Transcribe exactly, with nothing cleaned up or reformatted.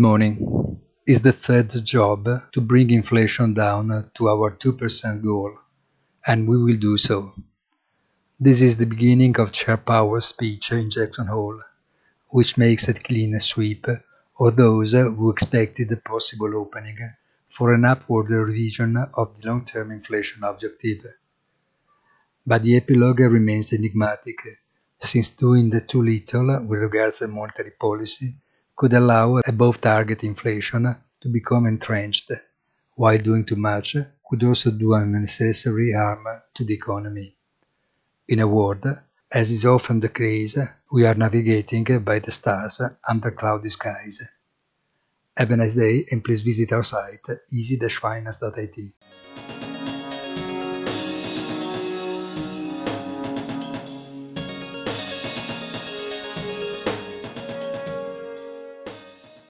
morning. It's the Fed's job to bring inflation down to our two percent goal, and we will do so. This is the beginning of Chair Powell's speech in Jackson Hole, which makes a clean sweep of those who expected a possible opening for an upward revision of the long-term inflation objective. But the epilogue remains enigmatic, since doing too little with regards to monetary policy could allow above-target inflation to become entrenched, while doing too much could also do unnecessary harm to the economy. In a word, as is often the case, we are navigating by the stars under cloudy skies. Have a nice day and please visit our site easy dash finance dot I T.